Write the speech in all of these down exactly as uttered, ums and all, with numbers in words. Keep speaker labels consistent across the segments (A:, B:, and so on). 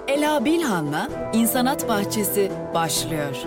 A: Ela Bilhan'la İnsanat Bahçesi başlıyor.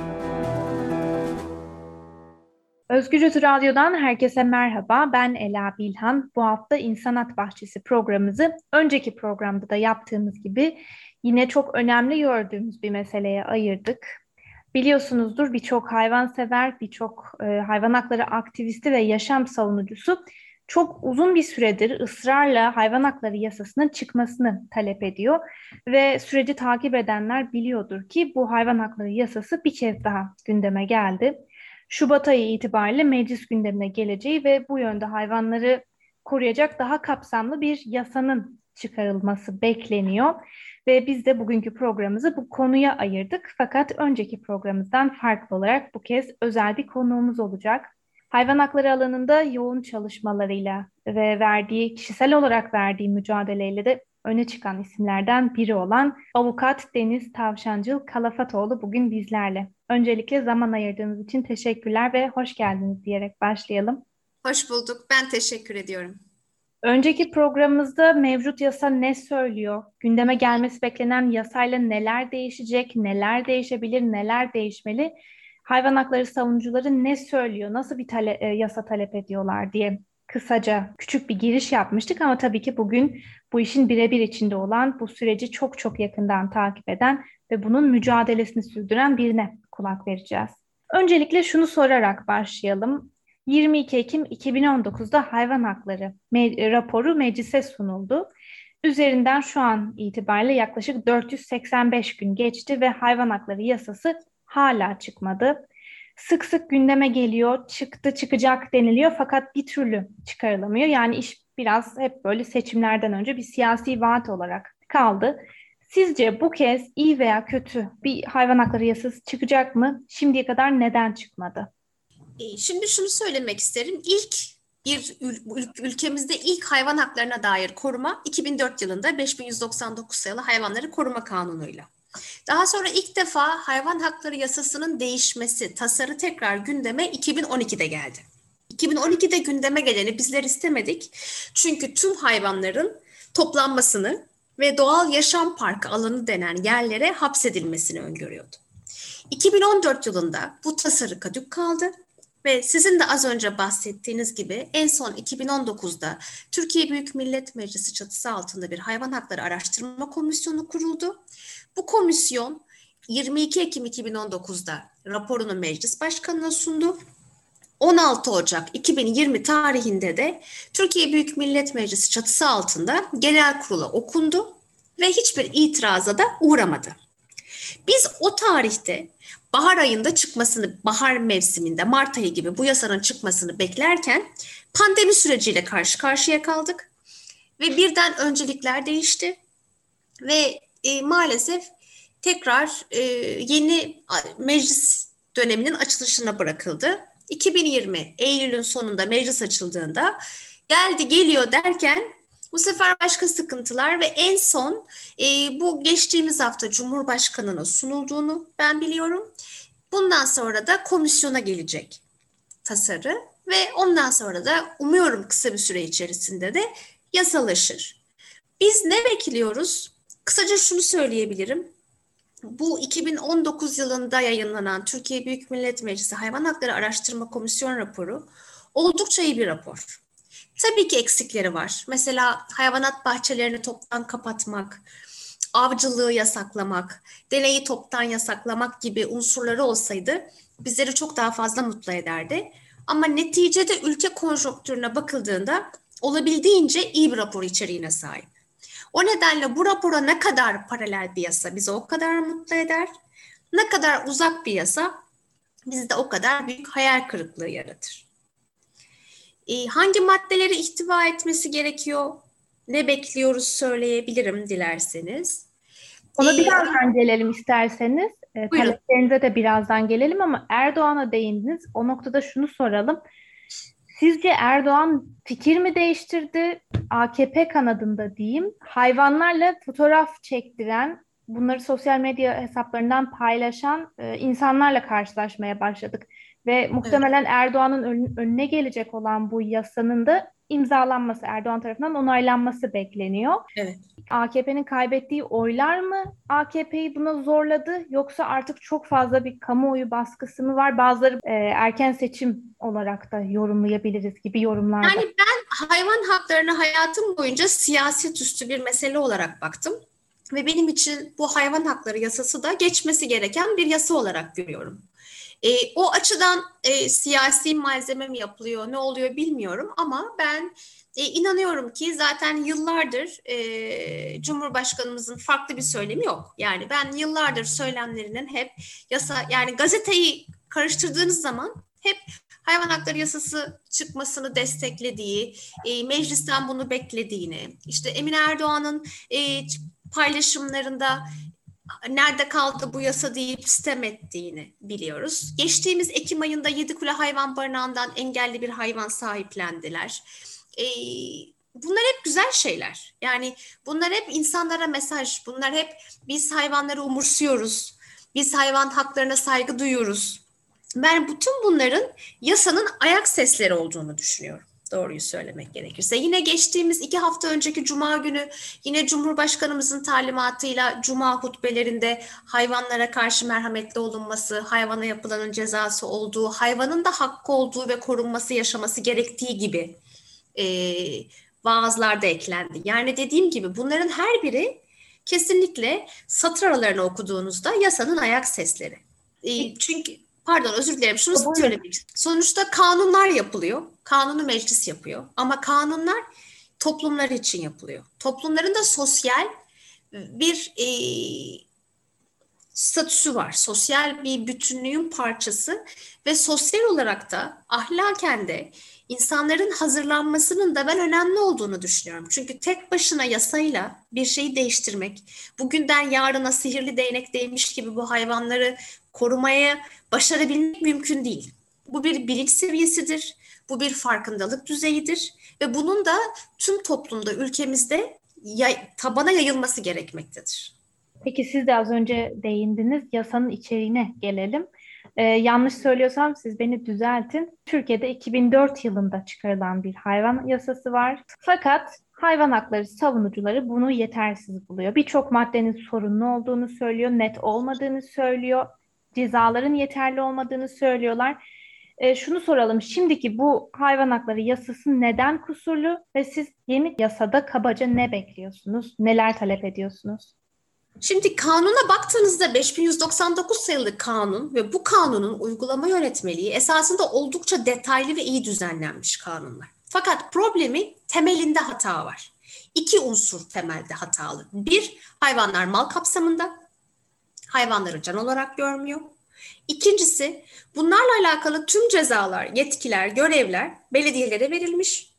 B: Özgürüz Radyo'dan herkese merhaba. Ben Ela Bilhan. Bu hafta İnsanat Bahçesi programımızı önceki programda da yaptığımız gibi yine çok önemli gördüğümüz bir meseleye ayırdık. Biliyorsunuzdur, birçok hayvansever, birçok e, hayvan hakları aktivisti ve yaşam savunucusu çok uzun bir süredir ısrarla hayvan hakları yasasının çıkmasını talep ediyor. Ve süreci takip edenler biliyordur ki bu hayvan hakları yasası bir kez daha gündeme geldi. Şubat ayı itibariyle meclis gündemine geleceği ve bu yönde hayvanları koruyacak daha kapsamlı bir yasanın çıkarılması bekleniyor. Ve biz de bugünkü programımızı bu konuya ayırdık. Fakat önceki programımızdan farklı olarak bu kez özel bir konuğumuz olacak. Hayvan hakları alanında yoğun çalışmalarıyla ve verdiği, kişisel olarak verdiği mücadeleyle de öne çıkan isimlerden biri olan Avukat Deniz Tavşancıl Kalafatoğlu bugün bizlerle. Öncelikle zaman ayırdığınız için teşekkürler ve hoş geldiniz diyerek başlayalım.
C: Hoş bulduk. Ben teşekkür ediyorum.
B: Önceki programımızda mevcut yasa ne söylüyor? Gündeme gelmesi beklenen yasayla neler değişecek, neler değişebilir, neler değişmeli? Hayvan hakları savunucuları ne söylüyor, nasıl bir tale- e, yasa talep ediyorlar diye kısaca küçük bir giriş yapmıştık ama tabii ki bugün bu işin birebir içinde olan, bu süreci çok çok yakından takip eden ve bunun mücadelesini sürdüren birine kulak vereceğiz. Öncelikle şunu sorarak başlayalım. yirmi iki Ekim iki bin on dokuzda hayvan hakları me- raporu meclise sunuldu. Üzerinden şu an itibariyle yaklaşık dört yüz seksen beş gün geçti ve hayvan hakları yasası hala çıkmadı. Sık sık gündeme geliyor, çıktı çıkacak deniliyor fakat bir türlü çıkarılamıyor. Yani iş biraz hep böyle seçimlerden önce bir siyasi vaat olarak kaldı. Sizce bu kez iyi veya kötü bir hayvan hakları yasası çıkacak mı? Şimdiye kadar neden çıkmadı?
C: E, Şimdi şunu söylemek isterim. İlk bir ül- ül- ülkemizde ilk hayvan haklarına dair koruma iki bin dört yılında beş bin yüz doksan dokuz sayılı Hayvanları Koruma Kanunu'yla. Daha sonra ilk defa hayvan hakları yasasının değişmesi, tasarı tekrar gündeme iki bin on ikide geldi. iki bin on ikide gündeme geleni bizler istemedik. Çünkü tüm hayvanların toplanmasını ve doğal yaşam parkı alanı denen yerlere hapsedilmesini öngörüyordu. iki bin on dört yılında bu tasarı kadük kaldı ve sizin de az önce bahsettiğiniz gibi en son iki bin on dokuzda Türkiye Büyük Millet Meclisi çatısı altında bir hayvan hakları araştırma komisyonu kuruldu. Bu komisyon yirmi iki Ekim iki bin on dokuzda raporunu meclis başkanına sundu. on altı Ocak iki bin yirmi tarihinde de Türkiye Büyük Millet Meclisi çatısı altında genel kurula okundu ve hiçbir itiraza da uğramadı. Biz o tarihte bahar ayında çıkmasını, bahar mevsiminde Mart ayı gibi bu yasanın çıkmasını beklerken pandemi süreciyle karşı karşıya kaldık ve birden öncelikler değişti ve e, maalesef tekrar e, yeni meclis döneminin açılışına bırakıldı. iki bin yirmi Eylül'ün sonunda meclis açıldığında geldi geliyor derken bu sefer başka sıkıntılar ve en son e, bu geçtiğimiz hafta Cumhurbaşkanı'na sunulduğunu ben biliyorum. Bundan sonra da komisyona gelecek tasarı ve ondan sonra da umuyorum kısa bir süre içerisinde de yasalaşır. Biz ne bekliyoruz? Kısaca şunu söyleyebilirim. Bu iki bin on dokuz yılında yayınlanan Türkiye Büyük Millet Meclisi Hayvan Hakları Araştırma Komisyon raporu oldukça iyi bir rapor. Tabii ki eksikleri var. Mesela hayvanat bahçelerini toptan kapatmak, avcılığı yasaklamak, deneyi toptan yasaklamak gibi unsurları olsaydı bizleri çok daha fazla mutlu ederdi. Ama neticede ülke konjonktürüne bakıldığında olabildiğince iyi bir rapor içeriğine sahip. O nedenle bu rapora ne kadar paralel bir yasa bizi o kadar mutlu eder, ne kadar uzak bir yasa bizde o kadar büyük hayal kırıklığı yaratır. E, hangi maddeleri ihtiva etmesi gerekiyor? Ne bekliyoruz söyleyebilirim dilerseniz. E,
B: Ona birazdan gelelim isterseniz. E,
C: buyurun.
B: taleplerinize de birazdan gelelim ama Erdoğan'a değindiniz. O noktada şunu soralım. Sizce Erdoğan fikir mi değiştirdi? A K P kanadında diyeyim. Hayvanlarla fotoğraf çektiren, bunları sosyal medya hesaplarından paylaşan e, insanlarla karşılaşmaya başladık. Ve
C: Evet.
B: muhtemelen Erdoğan'ın ön- önüne gelecek olan bu yasanın da imzalanması, Erdoğan tarafından onaylanması bekleniyor.
C: Evet.
B: A K P'nin kaybettiği oylar mı A K P'yi buna zorladı, yoksa artık çok fazla bir kamuoyu baskısı mı var? Bazıları e, erken seçim olarak da yorumlayabiliriz gibi yorumlar da.
C: Yani ben hayvan haklarına hayatım boyunca siyaset üstü bir mesele olarak baktım. Ve benim için bu hayvan hakları yasası da geçmesi gereken bir yasa olarak görüyorum. E, o açıdan e, siyasi malzeme mi yapılıyor, ne oluyor bilmiyorum ama ben e, inanıyorum ki zaten yıllardır e, Cumhurbaşkanımızın farklı bir söylemi yok. Yani ben yıllardır söylemlerinin hep yasa, yani gazeteyi karıştırdığınız zaman hep hayvan hakları yasası çıkmasını desteklediği, e, meclisten bunu beklediğini, işte Emine Erdoğan'ın e, paylaşımlarında nerede kaldı bu yasa deyip sitem ettiğini biliyoruz. Geçtiğimiz Ekim ayında Yedikule Hayvan Barınağı'ndan engelli bir hayvan sahiplendiler. Ee, bunlar hep güzel şeyler. Yani bunlar hep insanlara mesaj. Bunlar hep biz hayvanları umursuyoruz. Biz hayvan haklarına saygı duyuyoruz. Ben bütün bunların yasanın ayak sesleri olduğunu düşünüyorum. Doğruyu söylemek gerekirse. Yine geçtiğimiz iki hafta önceki Cuma günü yine Cumhurbaşkanımızın talimatıyla Cuma hutbelerinde hayvanlara karşı merhametli olunması, hayvana yapılanın cezası olduğu, hayvanın da hakkı olduğu ve korunması, yaşaması gerektiği gibi e, vaazlar da eklendi. Yani dediğim gibi bunların her biri kesinlikle satır aralarını okuduğunuzda yasanın ayak sesleri. E, çünkü Pardon, özür dilerim. Şunu
B: Buyurun.
C: söylemek istiyorum. Sonuçta kanunlar yapılıyor. Kanunu meclis yapıyor. Ama kanunlar toplumlar için yapılıyor. Toplumların da sosyal bir e, statüsü var. Sosyal bir bütünlüğün parçası ve sosyal olarak da ahlaken de insanların hazırlanmasının da ben önemli olduğunu düşünüyorum. Çünkü tek başına yasayla bir şeyi değiştirmek, bugünden yarına sihirli değnek değmiş gibi bu hayvanları korumaya başarabilmek mümkün değil. Bu bir bilinç seviyesidir, bu bir farkındalık düzeyidir ve bunun da tüm toplumda, ülkemizde yay, tabana yayılması gerekmektedir.
B: Peki siz de az önce değindiniz. Yasanın içeriğine gelelim. Ee, yanlış söylüyorsam siz beni düzeltin. Türkiye'de iki bin dört yılında çıkarılan bir hayvan yasası var. Fakat hayvan hakları savunucuları bunu yetersiz buluyor. Birçok maddenin sorunlu olduğunu söylüyor, net olmadığını söylüyor, cezaların yeterli olmadığını söylüyorlar. Ee, şunu soralım. Şimdiki bu hayvan hakları yasası neden kusurlu ve siz yeni yasada kabaca ne bekliyorsunuz? Neler talep ediyorsunuz?
C: Şimdi kanuna baktığınızda beş bin yüz doksan dokuz sayılı kanun ve bu kanunun uygulama yönetmeliği esasında oldukça detaylı ve iyi düzenlenmiş kanunlar. Fakat problemi temelinde hata var. İki unsur temelde hatalı. Bir, hayvanlar mal kapsamında, hayvanları can olarak görmüyor. İkincisi, bunlarla alakalı tüm cezalar, yetkiler, görevler belediyelere verilmiş.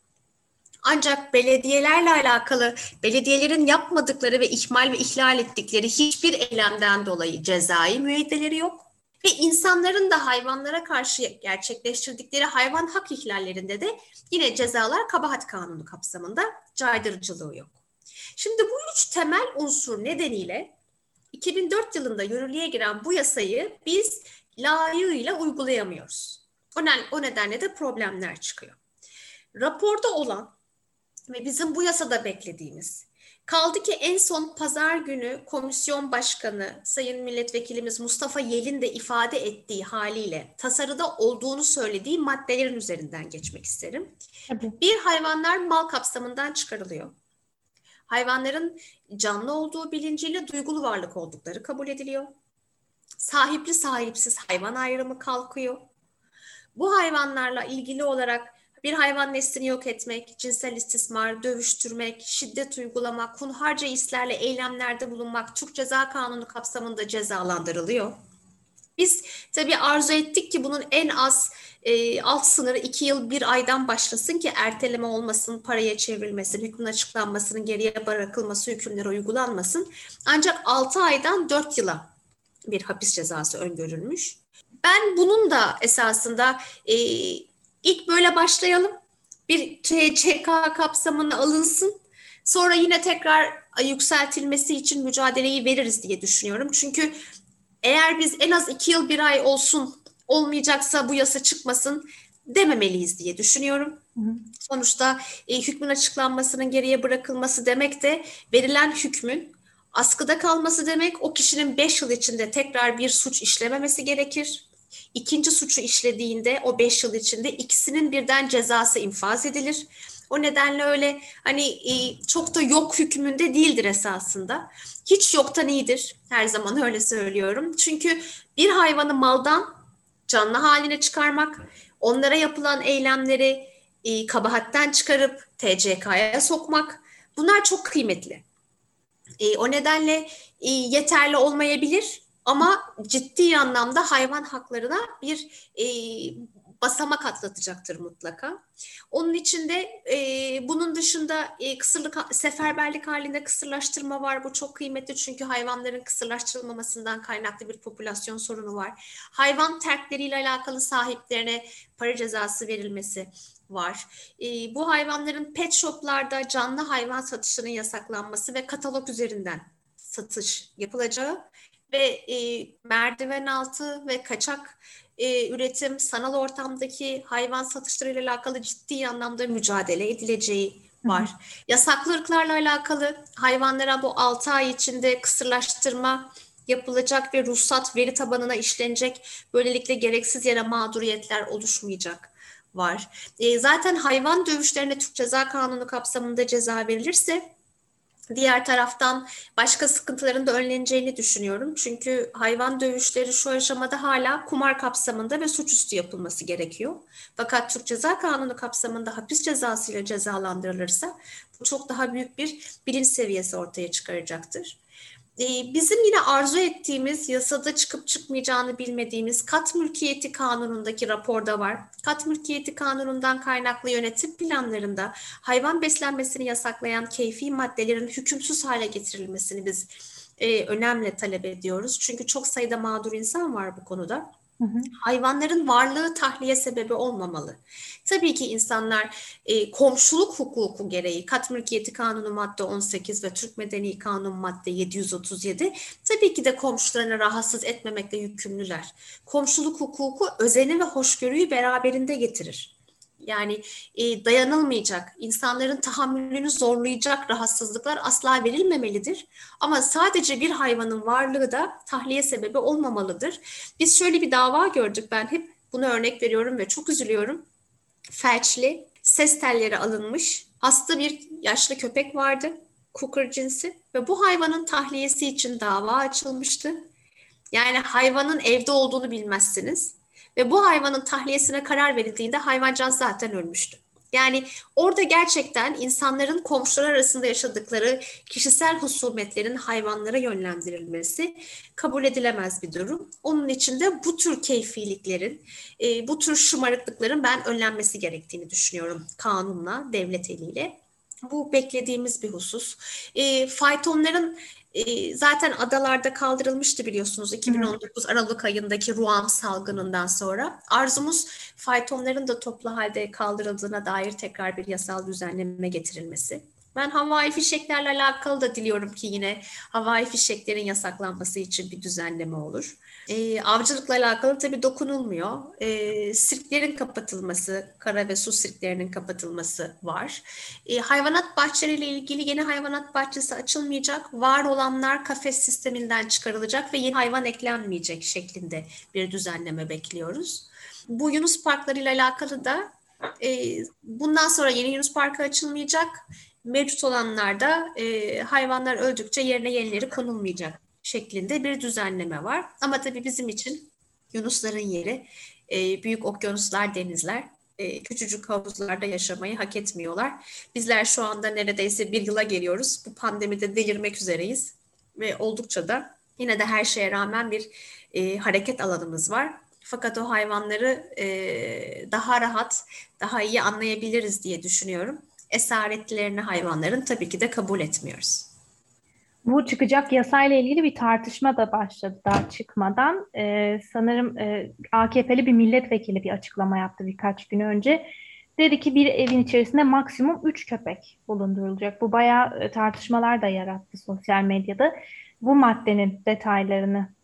C: Ancak belediyelerle alakalı, belediyelerin yapmadıkları ve ihmal ve ihlal ettikleri hiçbir eylemden dolayı cezai müeyyideleri yok. Ve insanların da hayvanlara karşı gerçekleştirdikleri hayvan hak ihlallerinde de yine cezalar kabahat kanunu kapsamında caydırıcılığı yok. Şimdi bu üç temel unsur nedeniyle iki bin dört yılında yürürlüğe giren bu yasayı biz layığıyla uygulayamıyoruz. O, ne, o nedenle de problemler çıkıyor. Raporda olan ve bizim bu yasada beklediğimiz, kaldı ki en son pazar günü komisyon başkanı Sayın Milletvekilimiz Mustafa Yel'in de ifade ettiği haliyle tasarıda olduğunu söylediği maddelerin üzerinden geçmek isterim.
B: Tabii.
C: Bir, hayvanlar mal kapsamından çıkarılıyor. Hayvanların canlı olduğu bilinciyle duygulu varlık oldukları kabul ediliyor. Sahipli sahipsiz hayvan ayrımı kalkıyor. Bu hayvanlarla ilgili olarak bir hayvan neslini yok etmek, cinsel istismar, dövüştürmek, şiddet uygulamak, hunharca hislerle eylemlerde bulunmak Türk Ceza Kanunu kapsamında cezalandırılıyor. Biz tabii arzu ettik ki bunun en az e, alt sınırı iki yıl bir aydan başlasın ki erteleme olmasın, paraya çevrilmesin, hükmün açıklanmasının geriye bırakılması, hükümlere uygulanmasın. Ancak altı aydan dört yıla bir hapis cezası öngörülmüş. Ben bunun da esasında e, ilk böyle başlayalım, bir C C K kapsamına alınsın, sonra yine tekrar yükseltilmesi için mücadeleyi veririz diye düşünüyorum. Çünkü eğer biz en az iki yıl bir ay olsun, olmayacaksa bu yasa çıkmasın, dememeliyiz diye düşünüyorum.
B: Hı hı.
C: Sonuçta e, hükmün açıklanmasının geriye bırakılması demek de verilen hükmün askıda kalması demek. O kişinin beş yıl içinde tekrar bir suç işlememesi gerekir. İkinci suçu işlediğinde o beş yıl içinde ikisinin birden cezası infaz edilir. O nedenle öyle hani e, çok da yok hükmünde değildir esasında. Hiç yoktan iyidir. Her zaman öyle söylüyorum. Çünkü bir hayvanı maldan canlı haline çıkarmak, onlara yapılan eylemleri e, kabahatten çıkarıp T C K'ya sokmak, bunlar çok kıymetli. E, o nedenle e, yeterli olmayabilir ama ciddi anlamda hayvan haklarına bir e, basamak atlatacaktır mutlaka. Onun için de e, bunun dışında e, kısırlık, seferberlik halinde kısırlaştırma var. Bu çok kıymetli çünkü hayvanların kısırlaştırılmamasından kaynaklı bir popülasyon sorunu var. Hayvan terkleriyle alakalı sahiplerine para cezası verilmesi var. E, bu hayvanların pet shoplarda canlı hayvan satışının yasaklanması ve katalog üzerinden satış yapılacağı ve e, merdiven altı ve kaçak e, üretim, sanal ortamdaki hayvan satışlarıyla alakalı ciddi anlamda mücadele edileceği var. Hı hı. Yasaklı ırklarla alakalı hayvanlara bu altı ay içinde kısırlaştırma yapılacak ve ruhsat veri tabanına işlenecek. Böylelikle gereksiz yere mağduriyetler oluşmayacak var. E, zaten hayvan dövüşlerine Türk Ceza Kanunu kapsamında ceza verilirse diğer taraftan başka sıkıntıların da önleneceğini düşünüyorum. Çünkü hayvan dövüşleri şu aşamada hala kumar kapsamında ve suçüstü yapılması gerekiyor. Fakat Türk Ceza Kanunu kapsamında hapis cezasıyla cezalandırılırsa bu çok daha büyük bir bilinç seviyesi ortaya çıkaracaktır. Bizim yine arzu ettiğimiz, yasada çıkıp çıkmayacağını bilmediğimiz kat mülkiyeti kanunundaki raporda var. Kat mülkiyeti kanunundan kaynaklı yönetim planlarında hayvan beslenmesini yasaklayan keyfi maddelerin hükümsüz hale getirilmesini biz e, önemli talep ediyoruz. Çünkü çok sayıda mağdur insan var bu konuda. Hı hı. Hayvanların varlığı tahliye sebebi olmamalı. Tabii ki insanlar e, komşuluk hukuku gereği kat mülkiyeti kanunu madde on sekiz ve Türk Medeni Kanun madde yedi yüz otuz yedi tabii ki de komşularını rahatsız etmemekle yükümlüler. Komşuluk hukuku özeni ve hoşgörüyü beraberinde getirir. Yani e, dayanılmayacak, insanların tahammülünü zorlayacak rahatsızlıklar asla verilmemelidir. Ama sadece bir hayvanın varlığı da tahliye sebebi olmamalıdır. Biz şöyle bir dava gördük, ben hep bunu örnek veriyorum ve çok üzülüyorum. Felçli, ses telleri alınmış, hasta bir yaşlı köpek vardı, Cooker cinsi ve bu hayvanın tahliyesi için dava açılmıştı. Yani hayvanın evde olduğunu bilmezsiniz. Ve bu hayvanın tahliyesine karar verildiğinde hayvancağız zaten ölmüştü. Yani orada gerçekten insanların komşular arasında yaşadıkları kişisel husumetlerin hayvanlara yönlendirilmesi kabul edilemez bir durum. Onun için de bu tür keyfiliklerin, bu tür şımarıklıkların ben önlenmesi gerektiğini düşünüyorum kanunla, devlet eliyle. Bu beklediğimiz bir husus. E, faytonların e, zaten adalarda kaldırılmıştı biliyorsunuz iki bin on dokuz Aralık ayındaki Ruam salgınından sonra. Arzumuz faytonların da toplu halde kaldırıldığına dair tekrar bir yasal düzenleme getirilmesi. Ben havai fişeklerle alakalı da diliyorum ki yine havai fişeklerin yasaklanması için bir düzenleme olur. E, avcılıkla alakalı tabii dokunulmuyor. E, sirklerin kapatılması, kara ve su sirklerinin kapatılması var. E, hayvanat bahçeleriyle ilgili yeni hayvanat bahçesi açılmayacak. Var olanlar kafes sisteminden çıkarılacak ve yeni hayvan eklenmeyecek şeklinde bir düzenleme bekliyoruz. Bu Yunus parklarıyla alakalı da e, bundan sonra yeni Yunus parkı açılmayacak. Mevcut olanlarda e, hayvanlar öldükçe yerine yenileri konulmayacak şeklinde bir düzenleme var. Ama tabii bizim için yunusların yeri e, büyük okyanuslar, denizler. E, küçücük havuzlarda yaşamayı hak etmiyorlar. Bizler şu anda neredeyse bir yıla geliyoruz. Bu pandemide delirmek üzereyiz. Ve oldukça da yine de her şeye rağmen bir e, hareket alanımız var. Fakat o hayvanları e, daha rahat, daha iyi anlayabiliriz diye düşünüyorum. Esaretlerini hayvanların tabii ki de kabul etmiyoruz.
B: Bu çıkacak yasayla ilgili bir tartışma da başladı daha çıkmadan. Ee, sanırım e, A K P'li bir milletvekili bir açıklama yaptı birkaç gün önce. Dedi ki bir evin içerisinde maksimum üç köpek bulundurulacak. Bu bayağı e, tartışmalar da yarattı sosyal medyada. Bu maddenin detaylarını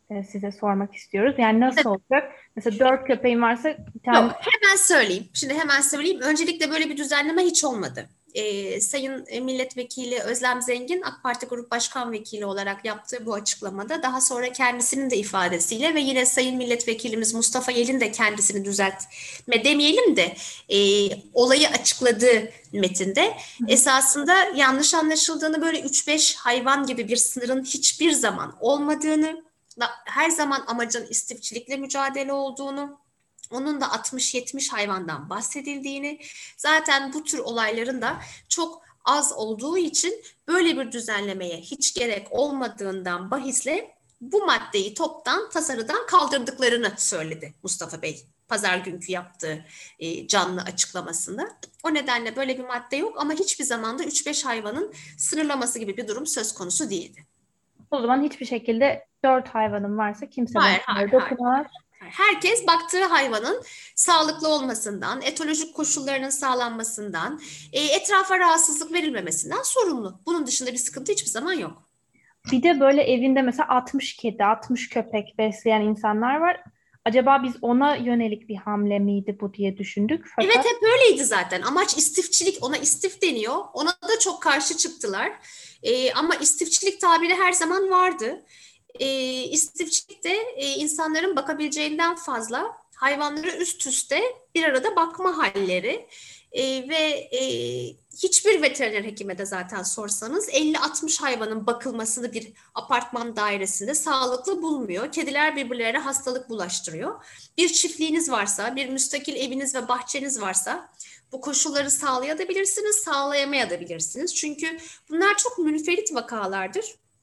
B: e, size sormak istiyoruz. Yani nasıl olacak? Mesela dört köpeğin varsa bir tane...
C: Yok, hemen söyleyeyim. Şimdi hemen söyleyeyim. Öncelikle böyle bir düzenleme hiç olmadı. Ee, Sayın Milletvekili Özlem Zengin, AK Parti Grup Başkan Vekili olarak yaptığı bu açıklamada, daha sonra kendisinin de ifadesiyle ve yine Sayın Milletvekilimiz Mustafa Yel'in de kendisini düzeltme demeyelim de e, olayı açıkladığı metinde esasında yanlış anlaşıldığını, böyle üç beş hayvan gibi bir sınırın hiçbir zaman olmadığını, her zaman amacın istifçilikle mücadele olduğunu, onun da altmış yetmiş hayvandan bahsedildiğini, zaten bu tür olayların da çok az olduğu için böyle bir düzenlemeye hiç gerek olmadığından bahisle bu maddeyi toptan tasarıdan kaldırdıklarını söyledi Mustafa Bey pazar günkü yaptığı e, canlı açıklamasında. O nedenle böyle bir madde yok ama hiçbir zaman da üç beş hayvanın sınırlaması gibi bir durum söz konusu değildi.
B: O zaman hiçbir şekilde dört hayvanın varsa kimse
C: hayır, hayır,
B: dokunamaz.
C: Herkes baktığı hayvanın sağlıklı olmasından, etolojik koşullarının sağlanmasından, e, etrafa rahatsızlık verilmemesinden sorumlu. Bunun dışında bir sıkıntı hiçbir zaman yok.
B: Bir de böyle evinde mesela altmış kedi, altmış köpek besleyen insanlar var. Acaba biz ona yönelik bir hamle miydi bu diye düşündük. Fakat...
C: Evet, hep öyleydi zaten. Amaç istifçilik, ona istif deniyor. Ona da çok karşı çıktılar. E, ama istifçilik tabiri her zaman vardı. E, istifçilik de e, insanların bakabileceğinden fazla hayvanları üst üste bir arada bakma halleri. E, ve e, hiçbir veteriner hekime de zaten sorsanız elli altmış hayvanın bakılmasını bir apartman dairesinde sağlıklı bulmuyor. Kediler birbirlerine hastalık bulaştırıyor. Bir çiftliğiniz varsa, bir müstakil eviniz ve bahçeniz varsa bu koşulları sağlayabilirsiniz, sağlayamayabilirsiniz. Çünkü bunlar çok münferit vakalardır.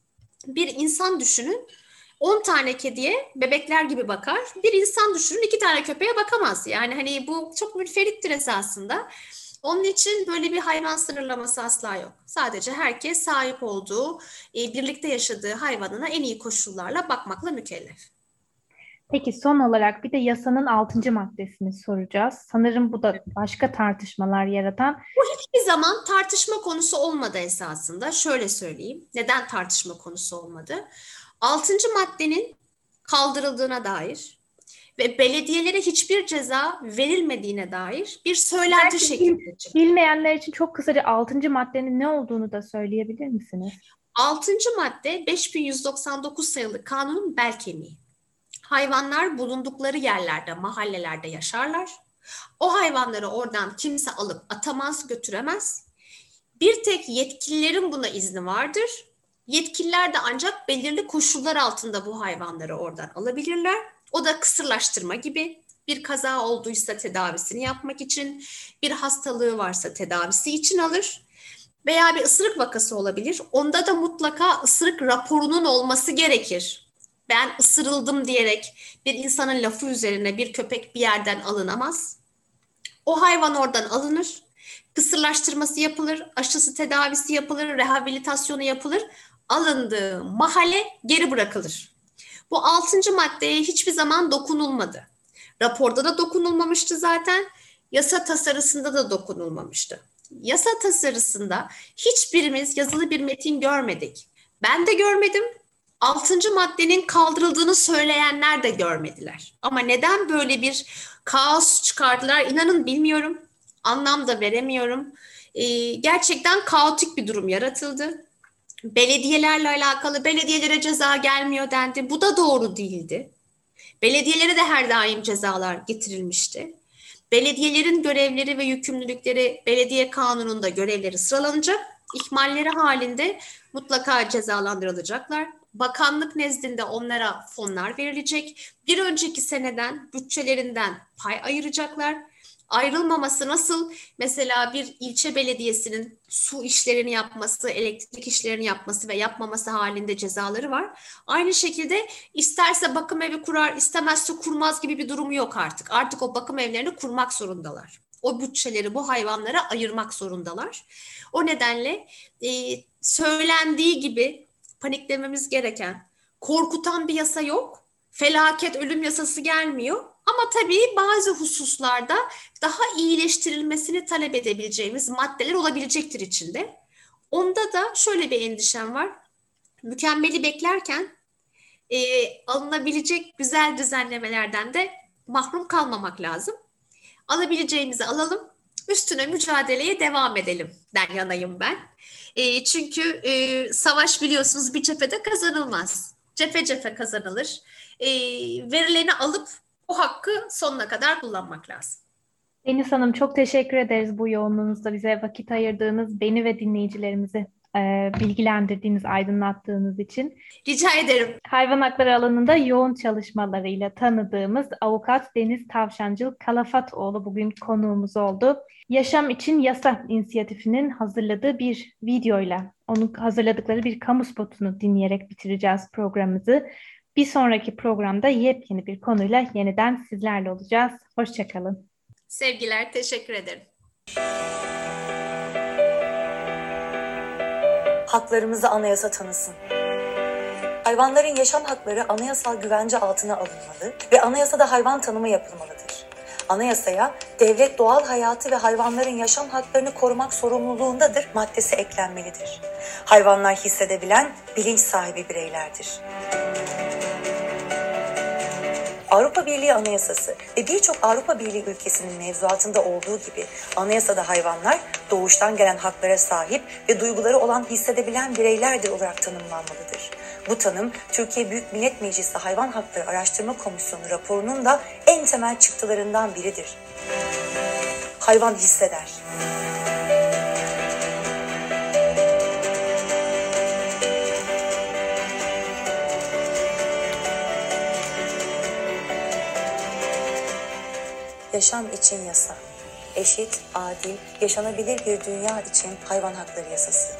C: Bir insan düşünün, on tane kediye bebekler gibi bakar. Bir insan düşünün, iki tane köpeğe bakamaz. Yani hani bu çok münferittir esasında. Onun için böyle bir hayvan sınırlaması asla yok. Sadece herkes sahip olduğu, birlikte yaşadığı hayvanına en iyi koşullarla bakmakla mükellef.
B: Peki son olarak bir de yasanın altıncı maddesini soracağız. Sanırım bu da başka tartışmalar yaratan.
C: Bu hiçbir zaman tartışma konusu olmadı esasında. Şöyle söyleyeyim. Neden tartışma konusu olmadı? Altıncı maddenin kaldırıldığına dair ve belediyelere hiçbir ceza verilmediğine dair bir söylenti şeklinde çıktı.
B: Bilmeyenler için çok kısaca altıncı maddenin ne olduğunu da söyleyebilir misiniz?
C: altıncı madde beş bin yüz doksan dokuz sayılı kanunun bel kemiği. Hayvanlar bulundukları yerlerde, mahallelerde yaşarlar. O hayvanları oradan kimse alıp atamaz, götüremez. Bir tek yetkililerin buna izni vardır. Yetkililer de ancak belirli koşullar altında bu hayvanları oradan alabilirler. O da kısırlaştırma gibi, bir kaza olduysa tedavisini yapmak için, bir hastalığı varsa tedavisi için alır. Veya bir ısırık vakası olabilir. Onda da mutlaka ısırık raporunun olması gerekir. Ben ısırıldım diyerek bir insanın lafı üzerine bir köpek bir yerden alınamaz. O hayvan oradan alınır, kısırlaştırması yapılır, aşısı tedavisi yapılır, rehabilitasyonu yapılır, alındığı mahalle geri bırakılır. Bu altıncı maddeye hiçbir zaman dokunulmadı. Raporda da dokunulmamıştı zaten, yasa tasarısında da dokunulmamıştı. Yasa tasarısında hiçbirimiz yazılı bir metin görmedik. Ben de görmedim. Altıncı maddenin kaldırıldığını söyleyenler de görmediler. Ama neden böyle bir kaos çıkardılar? İnanın bilmiyorum. Anlam da veremiyorum. Ee, gerçekten kaotik bir durum yaratıldı. Belediyelerle alakalı belediyelere ceza gelmiyor dendi. Bu da doğru değildi. Belediyelere de her daim cezalar getirilmişti. Belediyelerin görevleri ve yükümlülükleri belediye kanununda görevleri sıralanacak. İhmalleri halinde mutlaka cezalandırılacaklar. Bakanlık nezdinde onlara fonlar verilecek. Bir önceki seneden bütçelerinden pay ayıracaklar. Ayrılmaması nasıl? Mesela bir ilçe belediyesinin su işlerini yapması, elektrik işlerini yapması ve yapmaması halinde cezaları var. Aynı şekilde isterse bakım evi kurar, istemezse kurmaz gibi bir durumu yok artık. Artık o bakım evlerini kurmak zorundalar. O bütçeleri bu hayvanlara ayırmak zorundalar. O nedenle e, söylendiği gibi paniklememiz gereken, korkutan bir yasa yok. Felaket ölüm yasası gelmiyor. Ama tabii bazı hususlarda daha iyileştirilmesini talep edebileceğimiz maddeler olabilecektir içinde. Onda da şöyle bir endişem var. Mükemmeli beklerken e, alınabilecek güzel düzenlemelerden de mahrum kalmamak lazım. Alabileceğimizi alalım, üstüne mücadeleye devam edelim den yanayım ben. E, çünkü e, savaş biliyorsunuz bir cephede kazanılmaz. Cephe cephe kazanılır. E, verilerini alıp o hakkı sonuna kadar kullanmak lazım.
B: Deniz Hanım, çok teşekkür ederiz bu yoğunluğunuzda bize vakit ayırdığınız, beni ve dinleyicilerimizi e, bilgilendirdiğiniz, aydınlattığınız için.
C: Rica ederim.
B: Hayvan hakları alanında yoğun çalışmalarıyla tanıdığımız avukat Deniz Tavşancıl Kalafatoğlu bugün konuğumuz oldu. Yaşam İçin Yasa inisiyatifinin hazırladığı bir videoyla, onun hazırladıkları bir kamu spotunu dinleyerek bitireceğiz programımızı. Bir sonraki programda yepyeni bir konuyla yeniden sizlerle olacağız. Hoşçakalın.
C: Sevgiler, teşekkür ederim.
D: Haklarımızı anayasa tanısın. Hayvanların yaşam hakları anayasal güvence altına alınmalı ve anayasada hayvan tanımı yapılmalıdır. Anayasaya devlet doğal hayatı ve hayvanların yaşam haklarını korumak sorumluluğundadır maddesi eklenmelidir. Hayvanlar hissedebilen, bilinç sahibi bireylerdir. Avrupa Birliği Anayasası ve birçok Avrupa Birliği ülkesinin mevzuatında olduğu gibi anayasada hayvanlar doğuştan gelen haklara sahip ve duyguları olan hissedebilen bireylerdir olarak tanımlanmalıdır. Bu tanım Türkiye Büyük Millet Meclisi Hayvan Hakları Araştırma Komisyonu raporunun da en temel çıktılarından biridir. Hayvan hisseder. Yaşam için yasa. Eşit, adil, yaşanabilir bir dünya için hayvan hakları yasası.